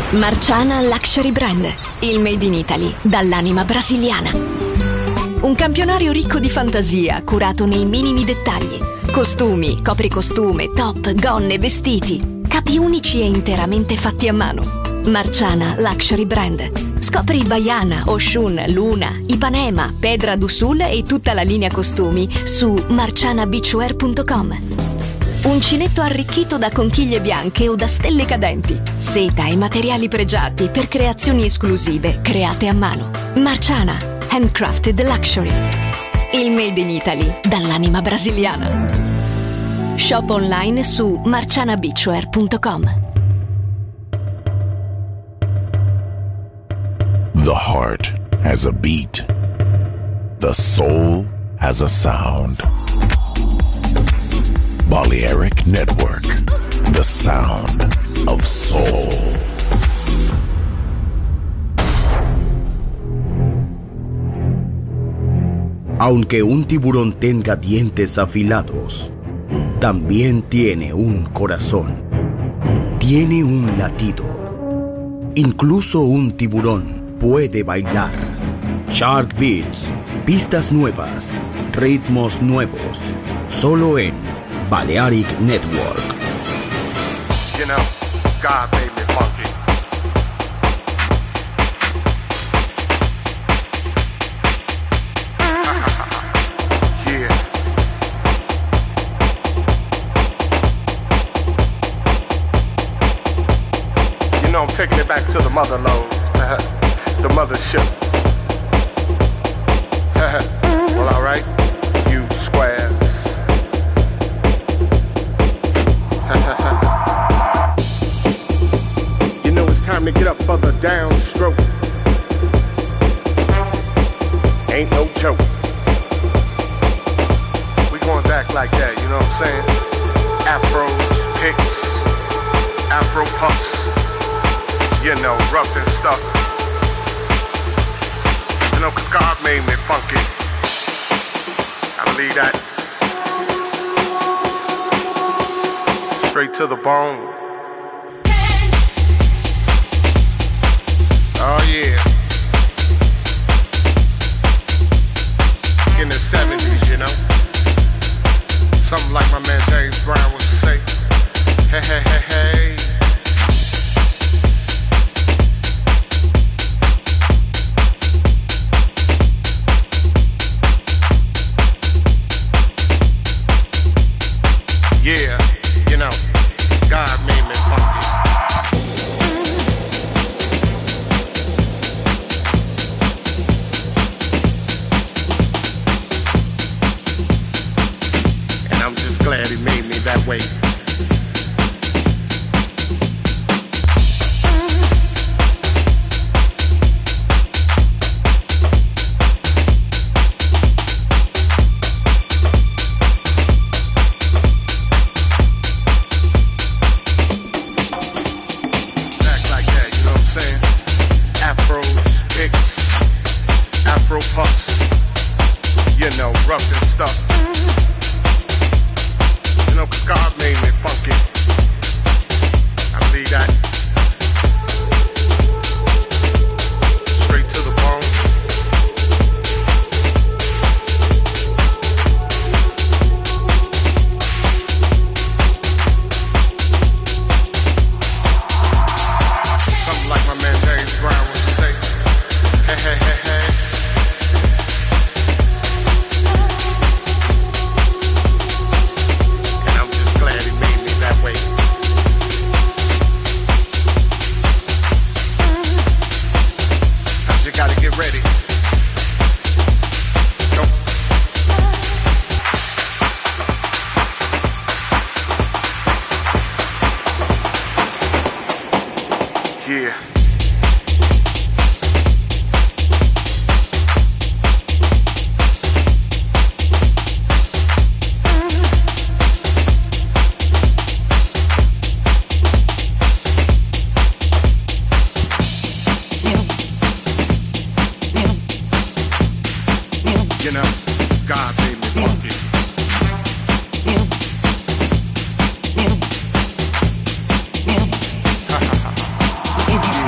Marciana Luxury Brand, il made in Italy dall'anima brasiliana. Un campionario ricco di fantasia, curato nei minimi dettagli. Costumi, copricostume, top, gonne, vestiti. Capi unici e interamente fatti a mano. Marciana Luxury Brand. Scopri Baiana, Oshun, Luna, Ipanema, Pedra do Sul e tutta la linea costumi su marcianabeachwear.com. Uncinetto arricchito da conchiglie bianche o da stelle cadenti. Seta e materiali pregiati per creazioni esclusive create a mano. Marciana, handcrafted luxury. Il made in Italy dall'anima brasiliana. Shop online su marcianabeachwear.com. The heart has a beat. The soul has a sound. Balearic Network, the sound of soul. Aunque un tiburón tenga dientes afilados, también tiene un corazón. Tiene un latido. Incluso un tiburón puede bailar. Shark Beats, pistas nuevas, ritmos nuevos, solo en Balearic Network. You know, God made me funky. Yeah. You know, I'm taking it back to the mother lode, the mothership. Well, all right, you squares. You know it's time to get up for the downstroke. Ain't no joke. We going back like that, you know what I'm saying? Afros, picks, Afro puffs. You know, rough and stuff. You know, 'cause God made me funky. I believe that. Straight to the bone. Oh yeah. In the 70s, you know. Something like my man James Brown would say. Hey, hey, hey, hey. Yeah, you know, God made me funky. And I'm just glad he made me that way. Afro puffs, you know, rough and stuff. You know, 'cause God made me funky. I believe that. Straight to the bone. Something like my man James Brown would say. Hey, hey, hey, hey. Gotta get ready. Go. Yeah. You know, God made me funky. Yeah.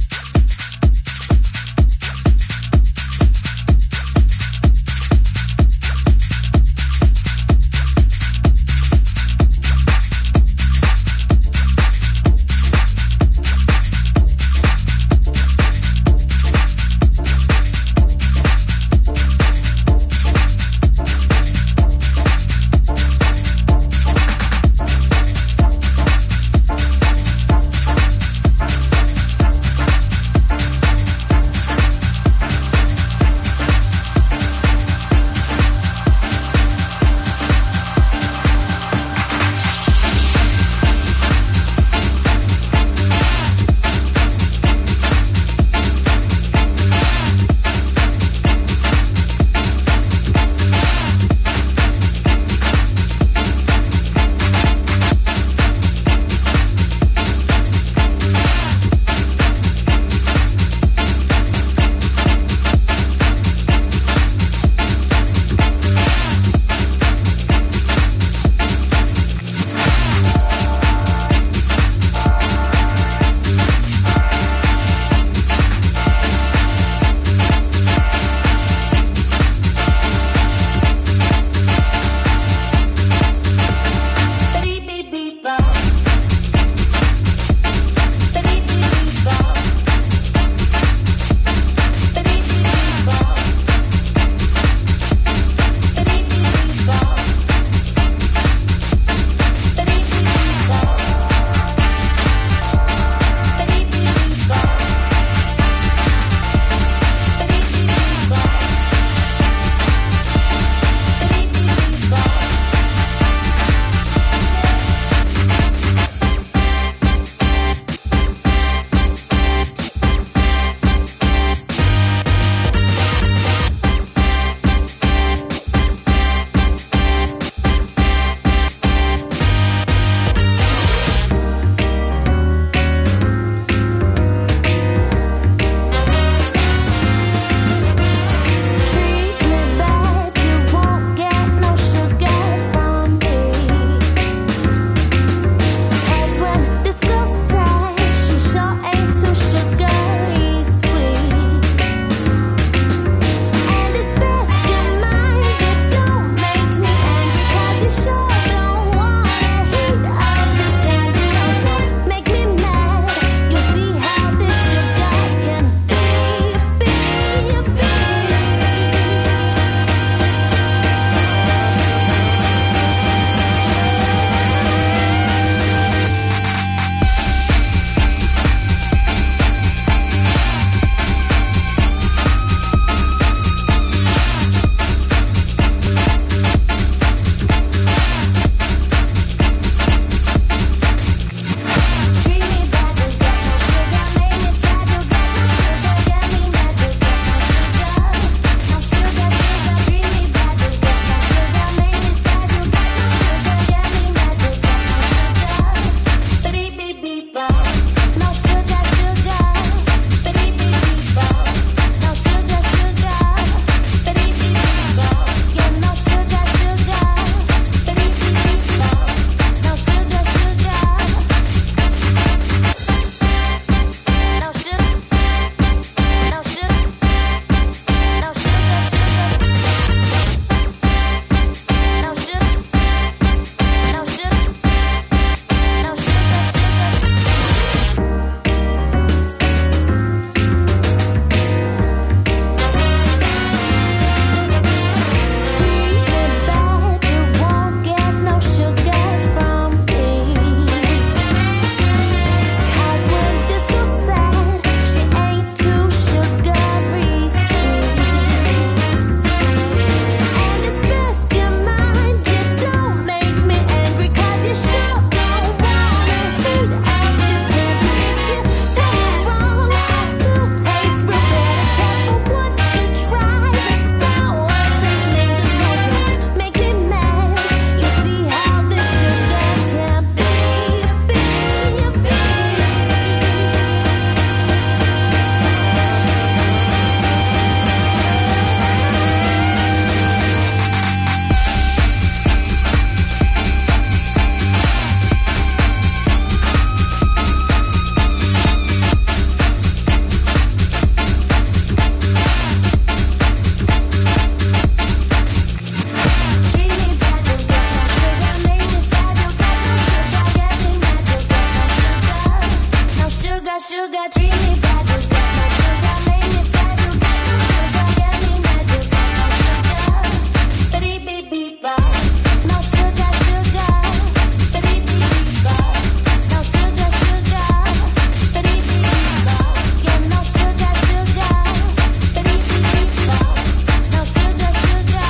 sugar, treat me bad. You got no sugar, make me sad. You got no sugar, get me mad. You got no sugar, ba-dee-bee-bee-ba. No sugar, sugar, ba-dee-bee-bee-ba. No sugar, sugar, ba-dee-bee-bee-ba. Yeah, no sugar, sugar, ba-dee-bee-bee-ba. No sugar, sugar.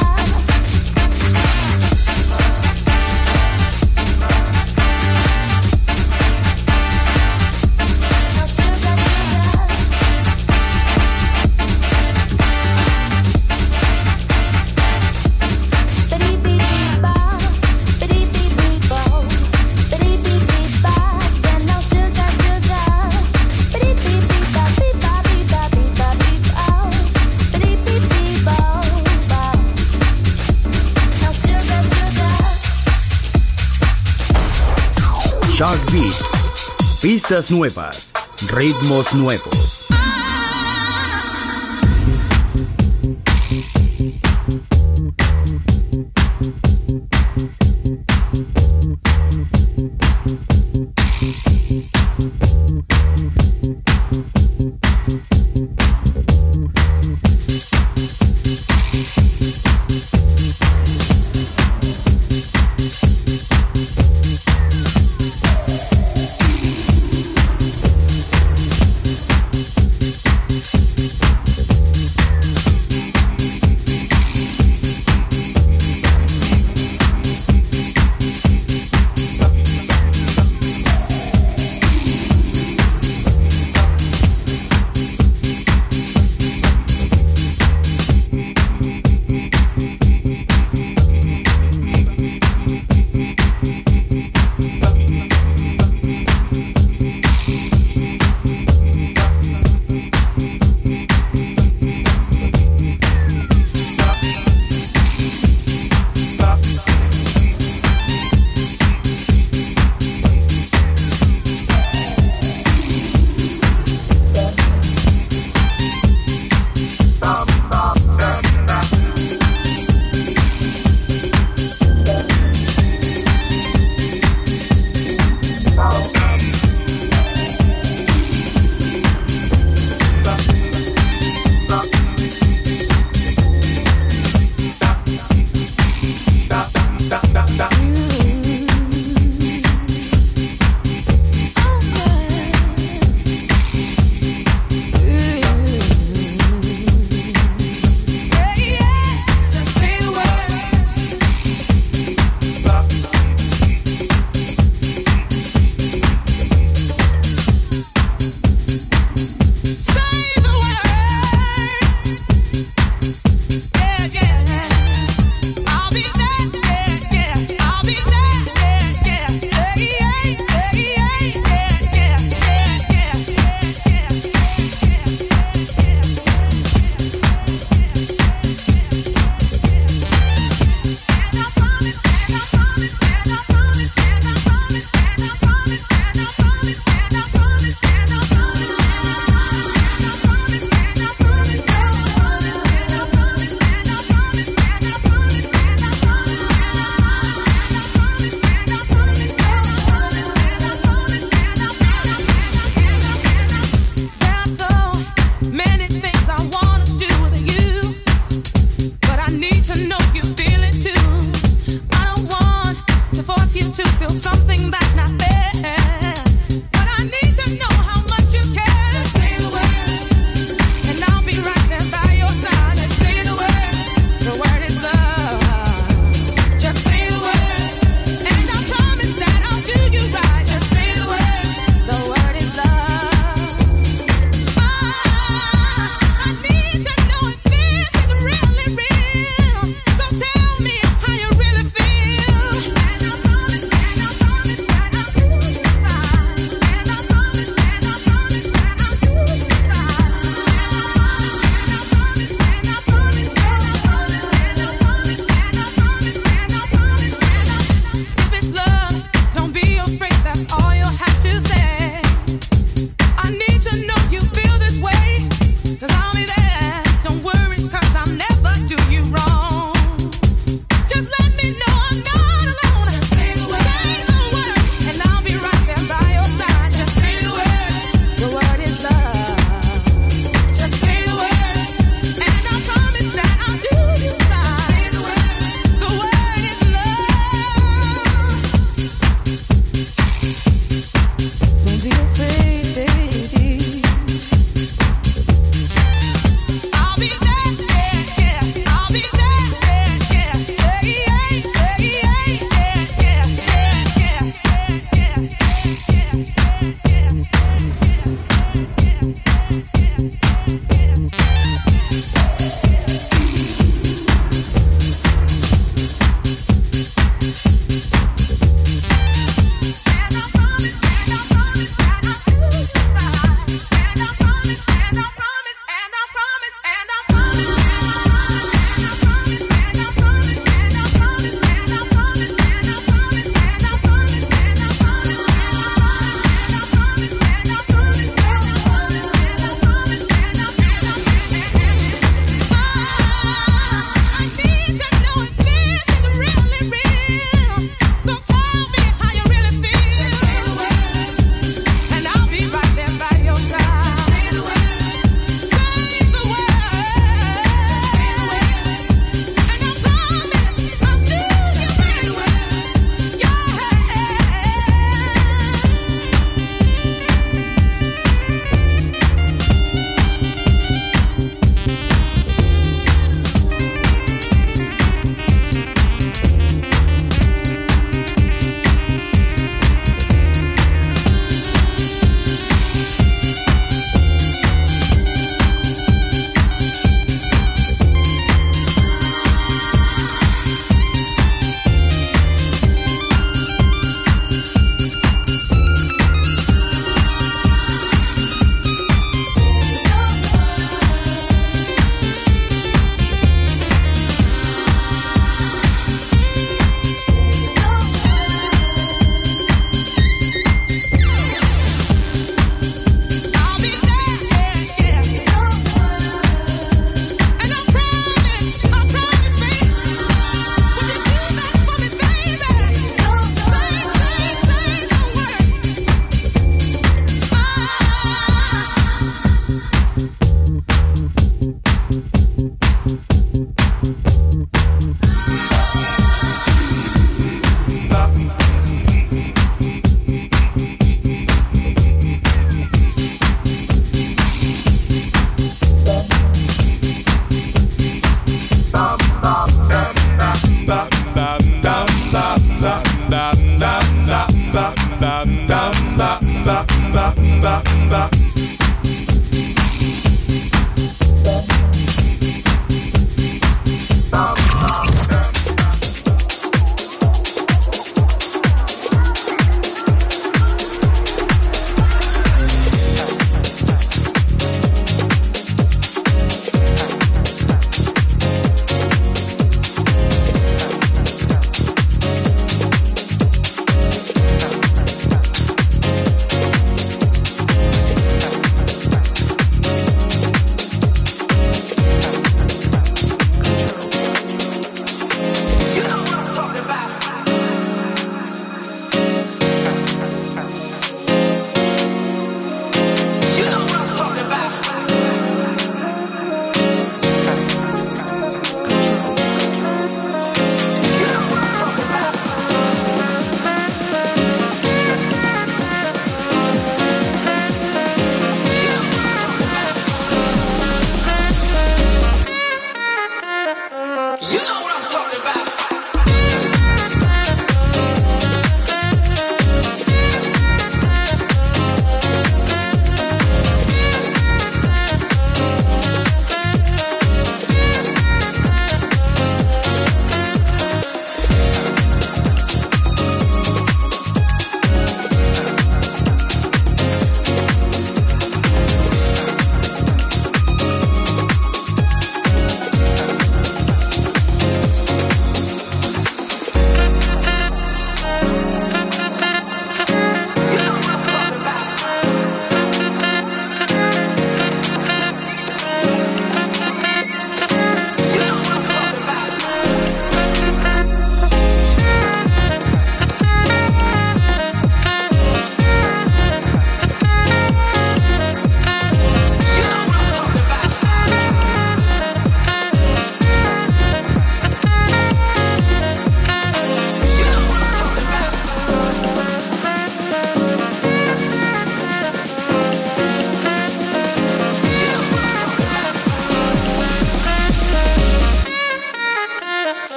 Shark Beat. Pistas nuevas, ritmos nuevos.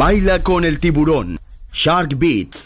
Baila con el tiburón. Shark Beats.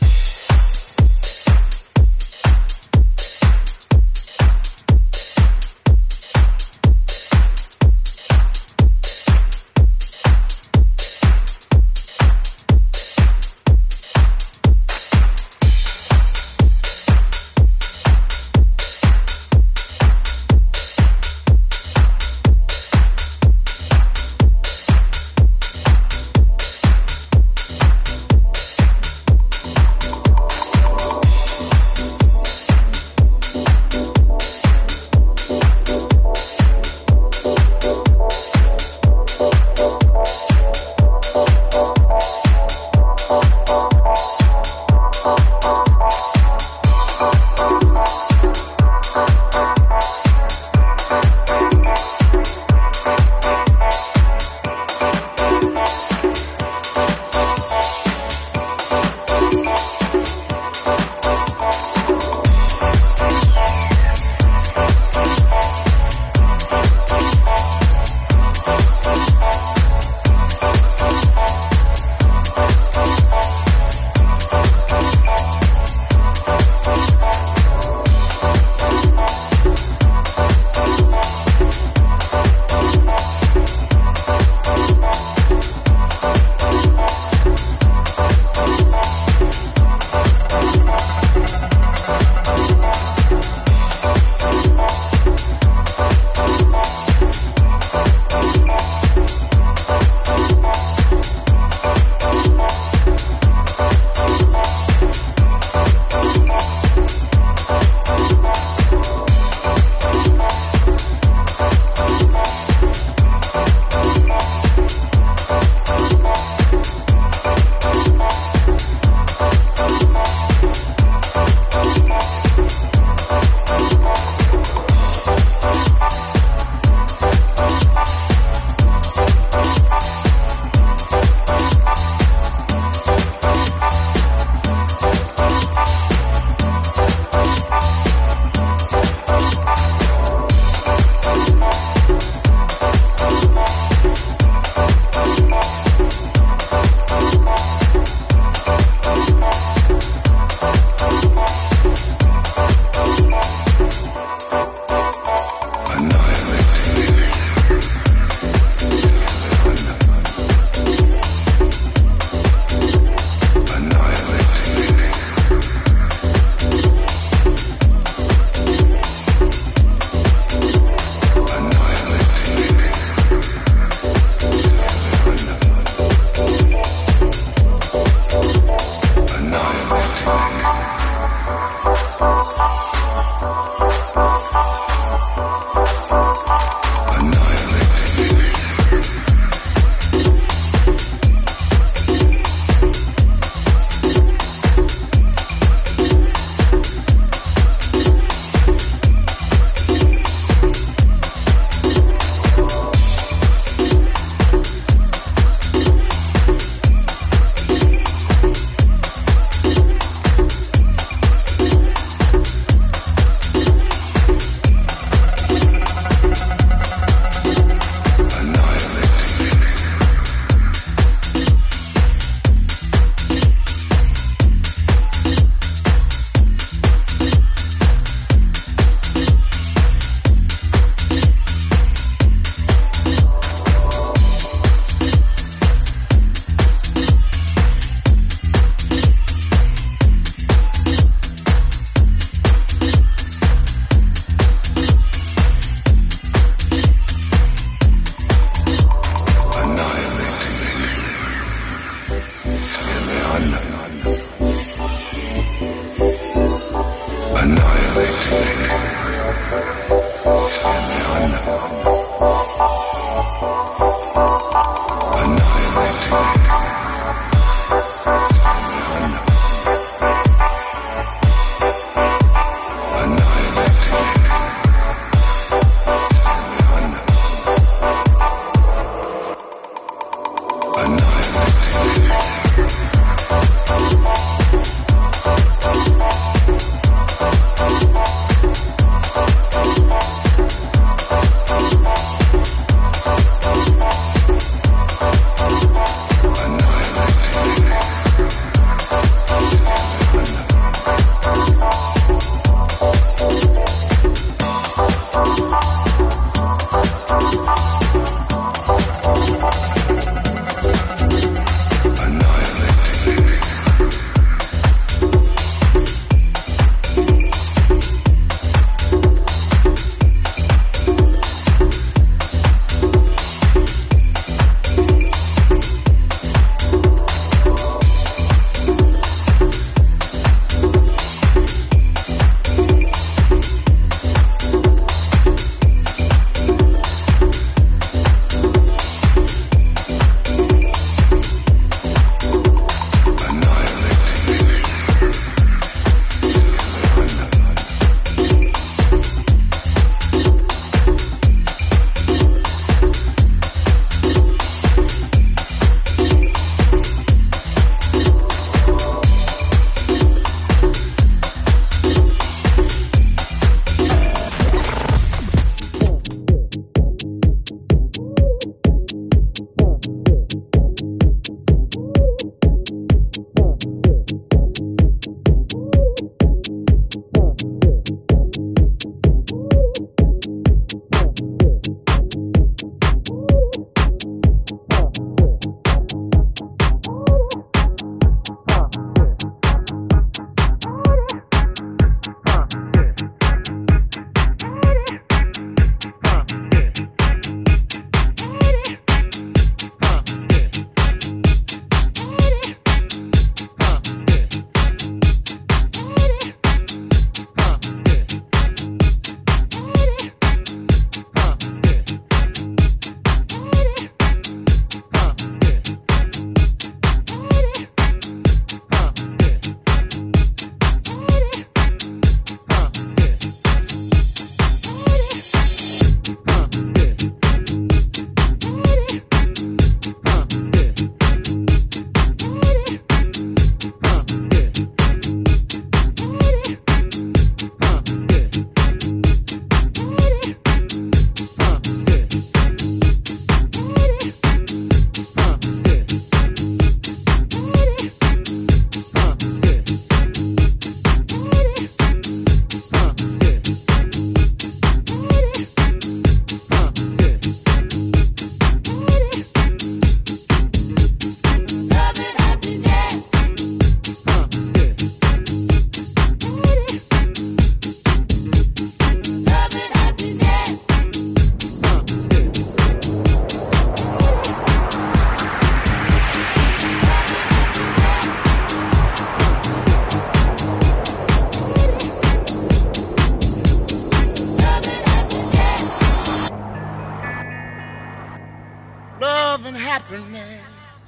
happiness.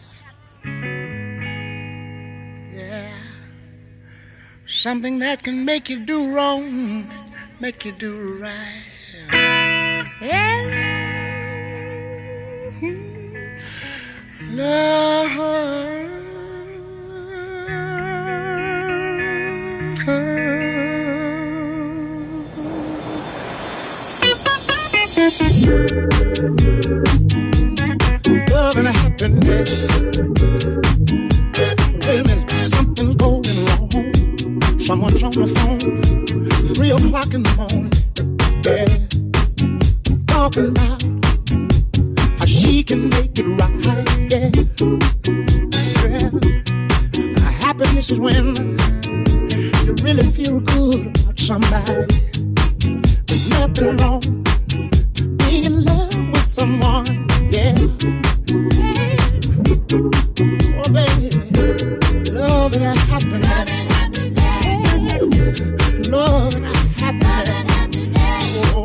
Yeah. Something that can make you do wrong, make you do right. Yeah. Love. Love and happiness. Wait a minute, something's going wrong. Someone's on the phone, 3 o'clock in the morning. Yeah, talking about how she can make it right. Yeah. Happiness is when you really feel good about somebody. There's nothing wrong being in love with someone. Yeah. Oh baby, love and happiness. Love and happiness. Oh.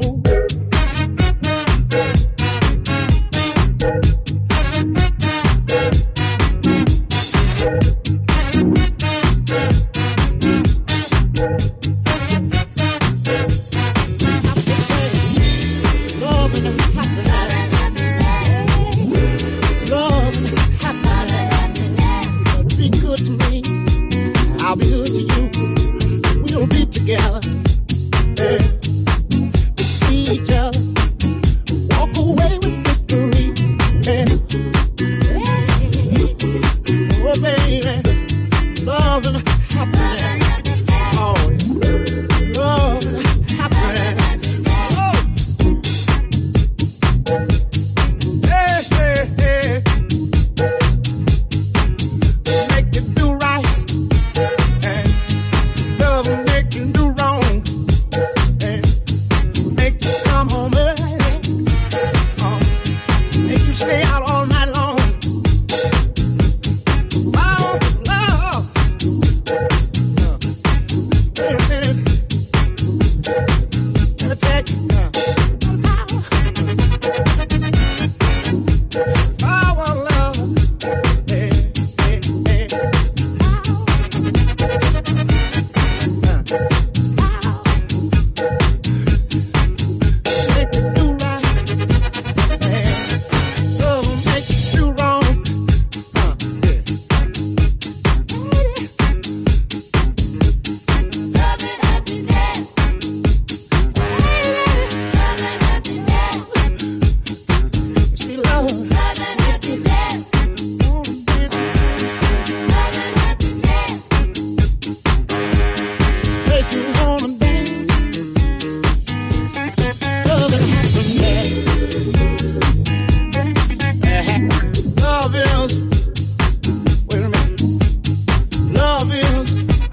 Together, yeah. To see each other, walk away with victory, yeah. Oh baby, love and happiness, oh yeah. Love and happiness, oh. Hey, hey, hey. Make you do right, and love will make you do wrong, and make you come home early, make you stay out all night long. Oh, love. Wait a minute. Let me take power, love. Hey, hey, hey. Make you do right, love will make you do wrong. Yeah. Love and happiness. See, love and happiness. Oh, baby. Love and happiness. Make you wanna dance. Love and happiness. Love is, wait a minute. Love is,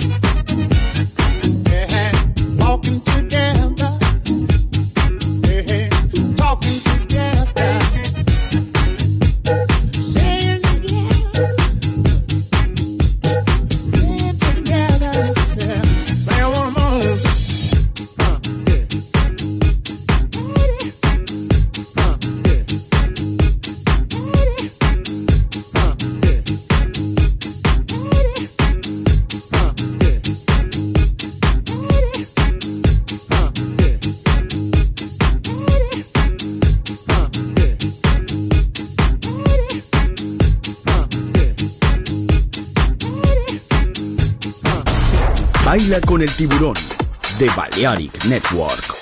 walking together, talking together, saying together, being together. Yeah. Man, one of those. Baila con el tiburón de Balearic Network.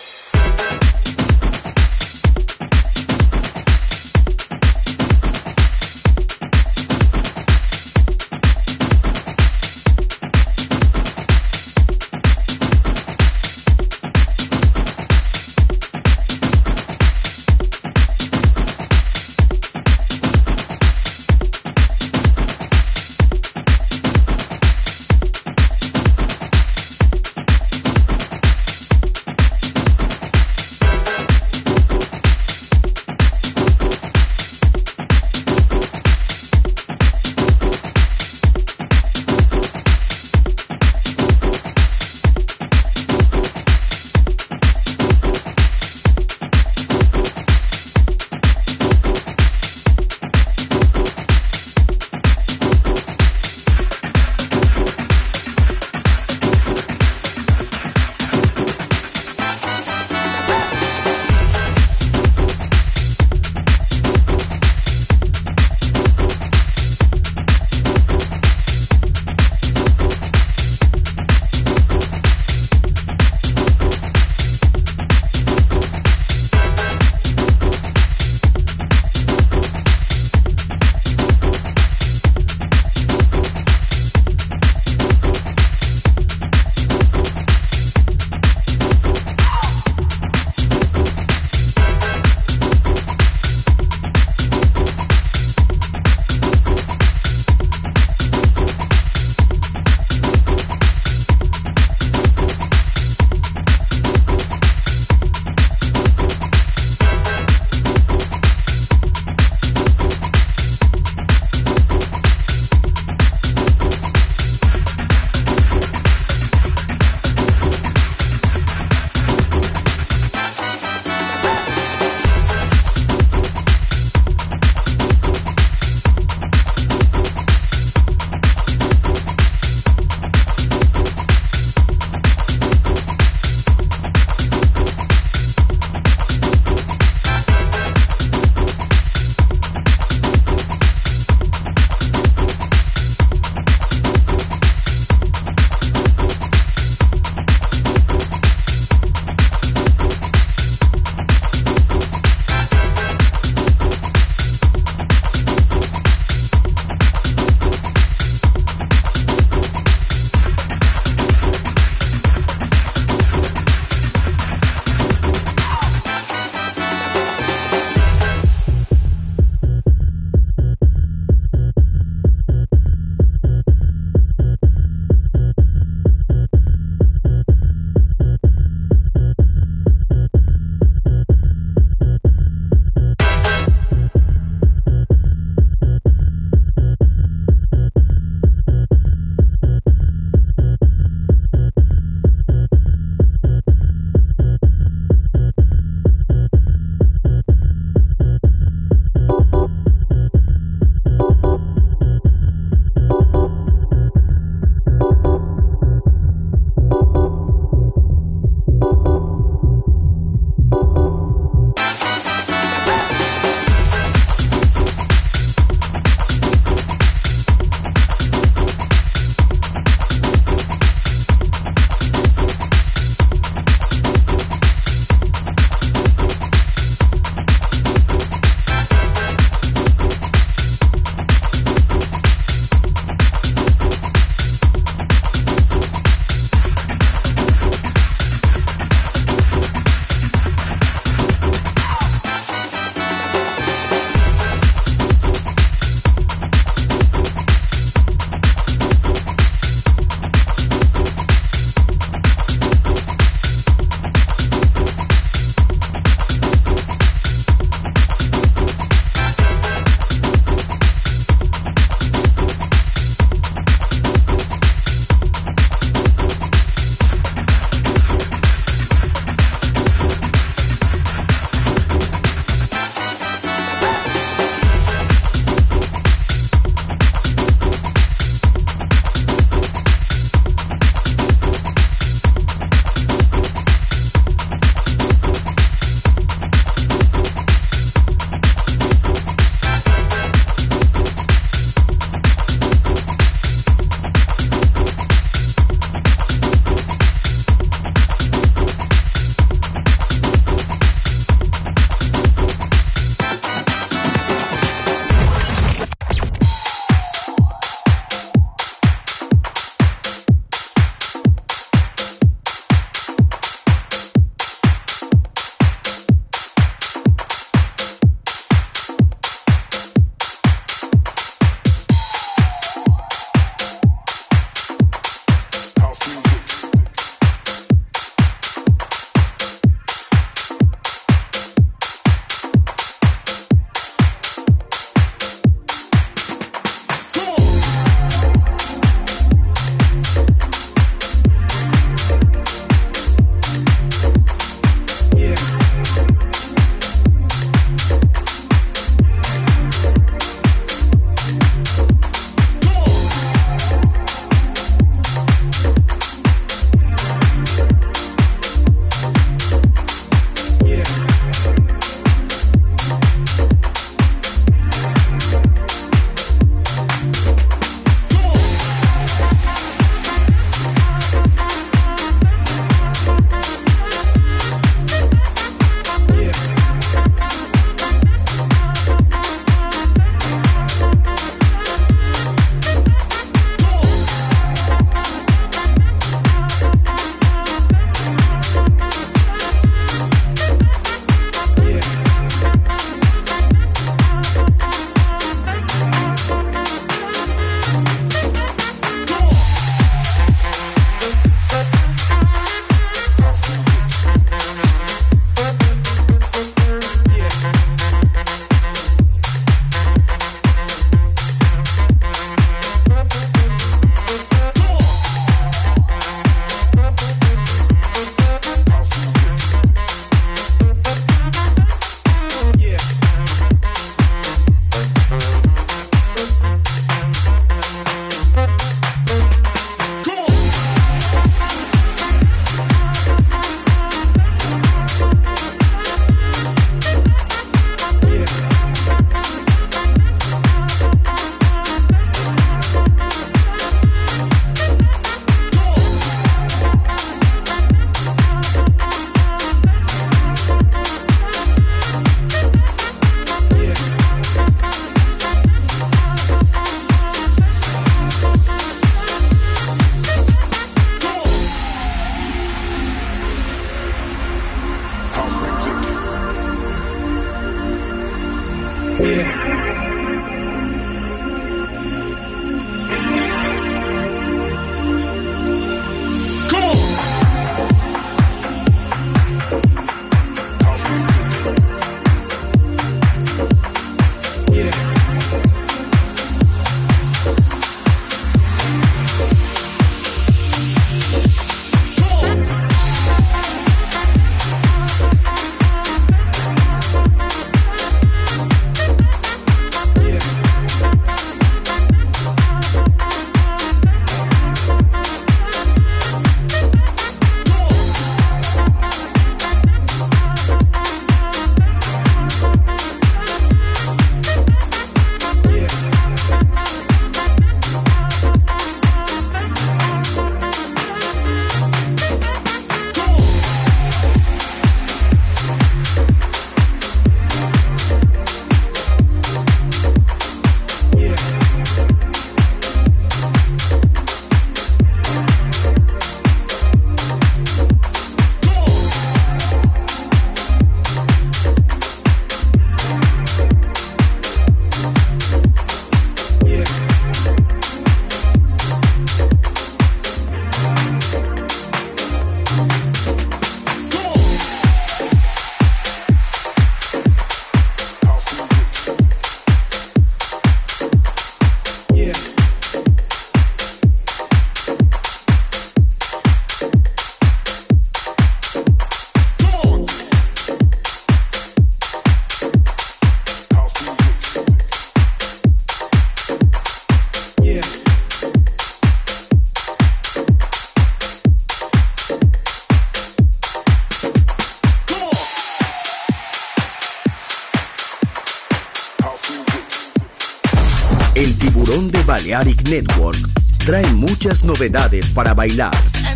El Tiburón de Balearic Network trae muchas novedades para bailar.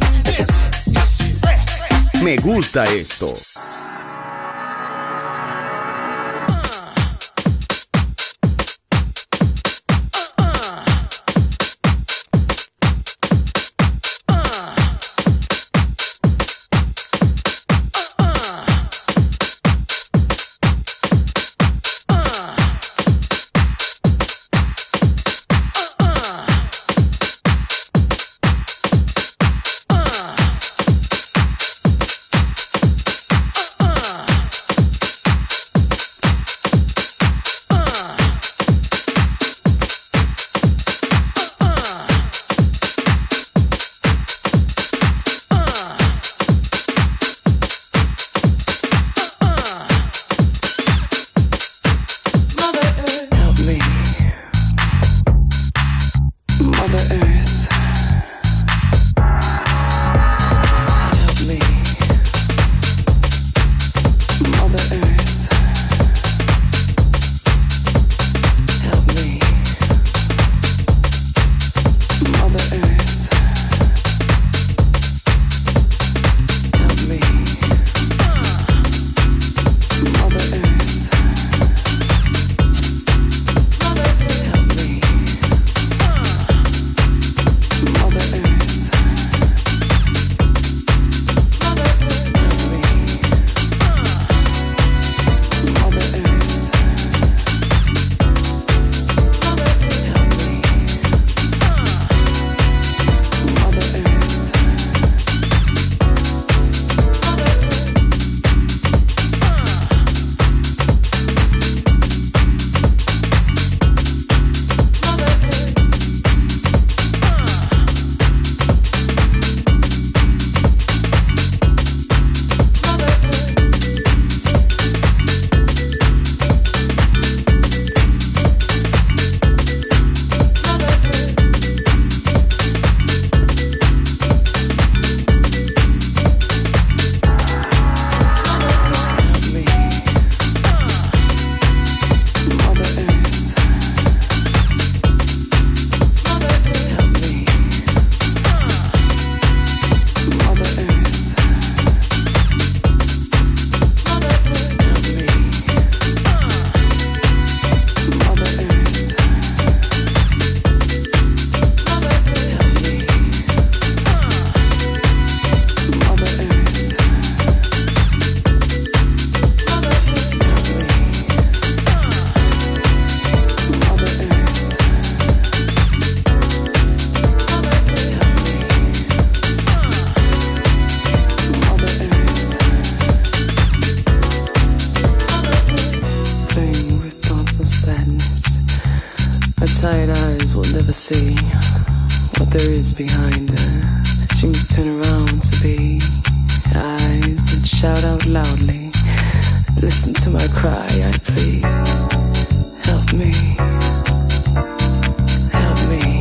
Me gusta esto. tired eyes will never see what there is behind her. She must turn around to be eyes that shout out loudly. Listen to my cry, I plead. Help me. Help me.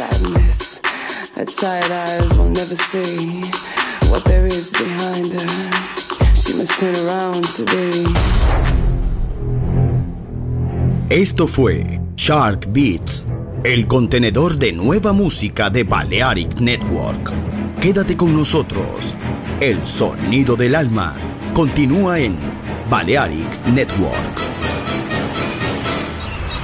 sadness. Her tired eyes will never see what there is behind her. She must turn around to be. Esto fue Shark Beats, el contenedor de nueva música de Balearic Network. Quédate con nosotros. El sonido del alma continúa en Balearic Network.